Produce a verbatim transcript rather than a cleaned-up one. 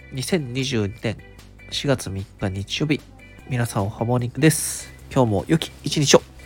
にせんにじゅうにねんしがつみっか日曜日、皆さんおはモーニングです。今日も良き一日を。